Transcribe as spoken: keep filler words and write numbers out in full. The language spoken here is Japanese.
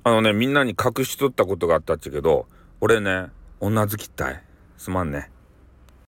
あのね、みんなに隠しとったことがあったっちゃけど、俺ね、女好きったい。すまんね。